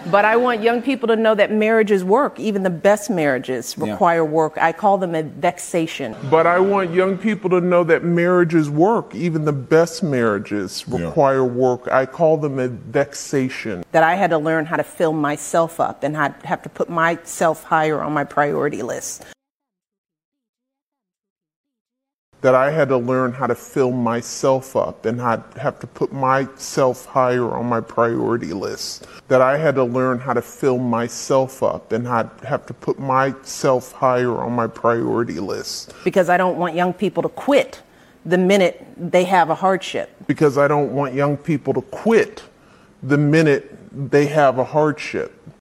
But I want young people to know that marriages work. Even the best marriages require work. I call them a vexation. But I want young people to know that marriages work. Even the best marriages require work. I call them a vexation. That I had to learn how to fill myself up and have to put myself higher on my priority list. That I had to learn how to fill myself up and have to put myself higher on my priority list. That I had to learn how to fill myself up and have to put myself higher on my priority list. Because I don't want young people to quit the minute they have a hardship. Because I don't want young people to quit the minute they have a hardship.